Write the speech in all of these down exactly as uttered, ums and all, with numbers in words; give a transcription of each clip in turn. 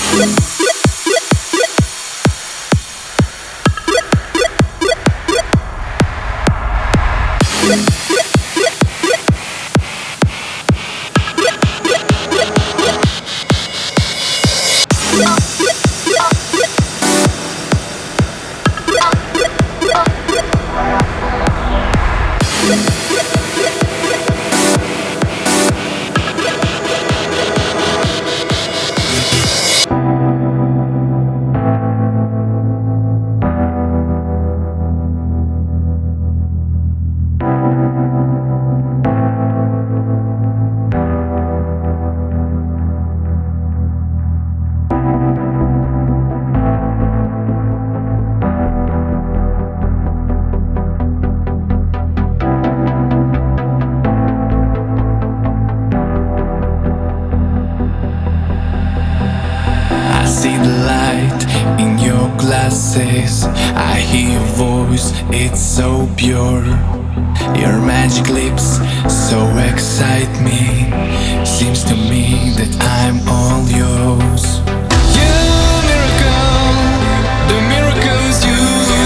I hear your voice, it's so pure. Your magic lips so excite me. Seems to me that I'm all yours. You miracle, the miracle's you.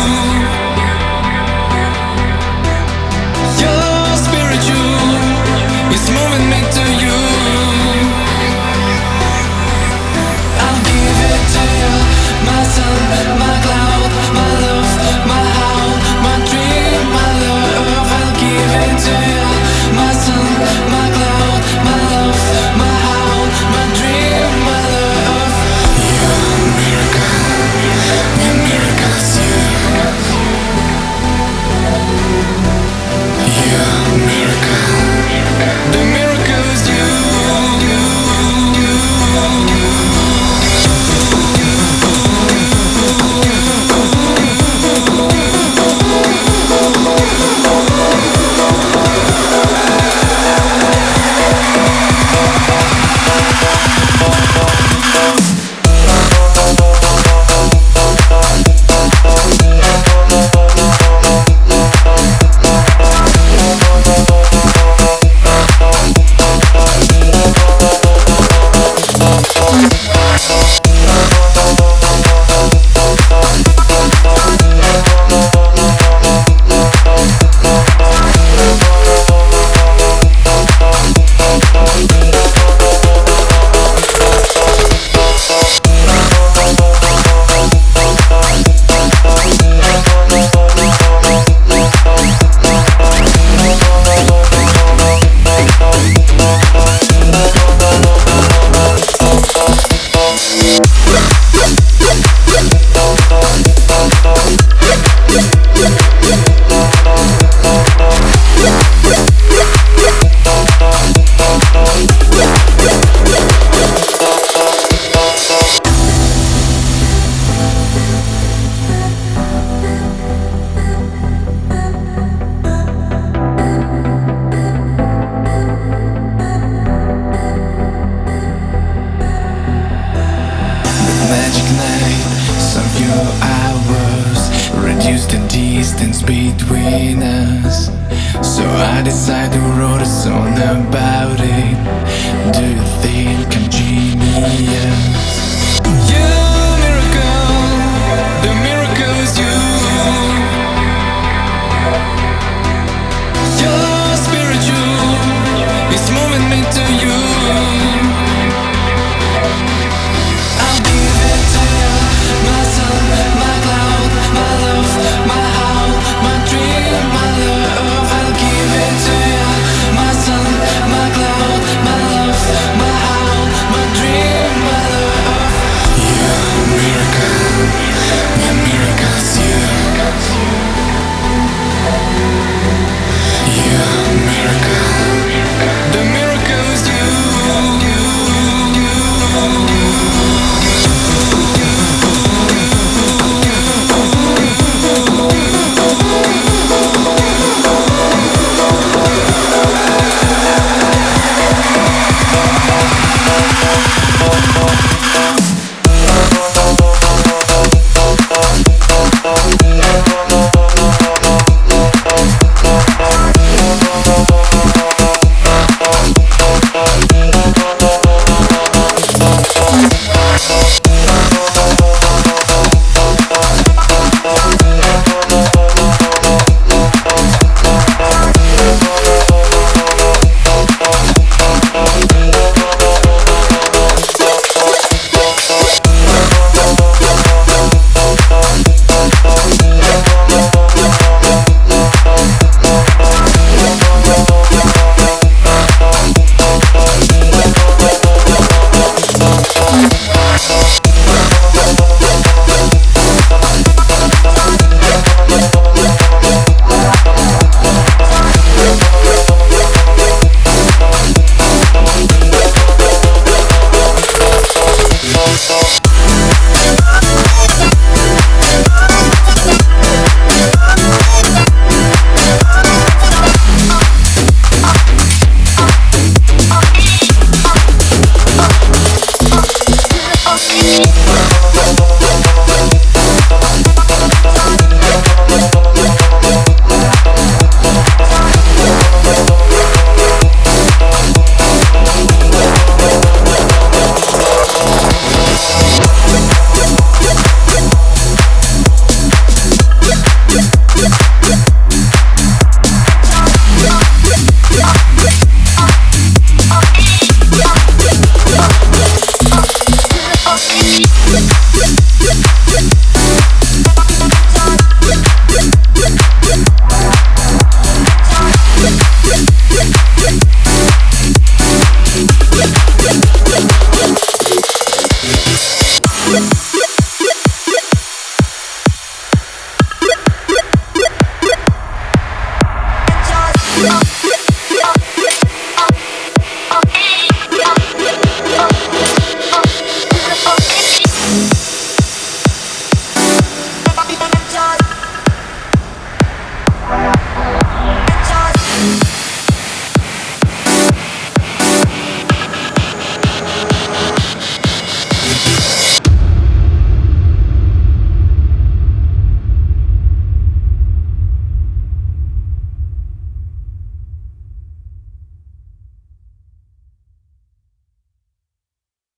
Your spiritual is moving me to you. I'll give it to you, my sun, my cloud, my love, my howl, my dream, my love. I'll give it to you, my sun, my cloud, my love, my howl, my dream, my love. You're a miracle, the miracle's you. You're a miracle, the miracle's you. Between us, so I decided to write a song about it. Do you think I'm genius? You miracle, the miracle's you. Your spiritual is moving me to you. I'll give it to you, my sun, my cloud, my love, my howl, my dream, my love. I'll give it to you, my sun, my cloud, my love, my howl, my dream, my We'll be right back.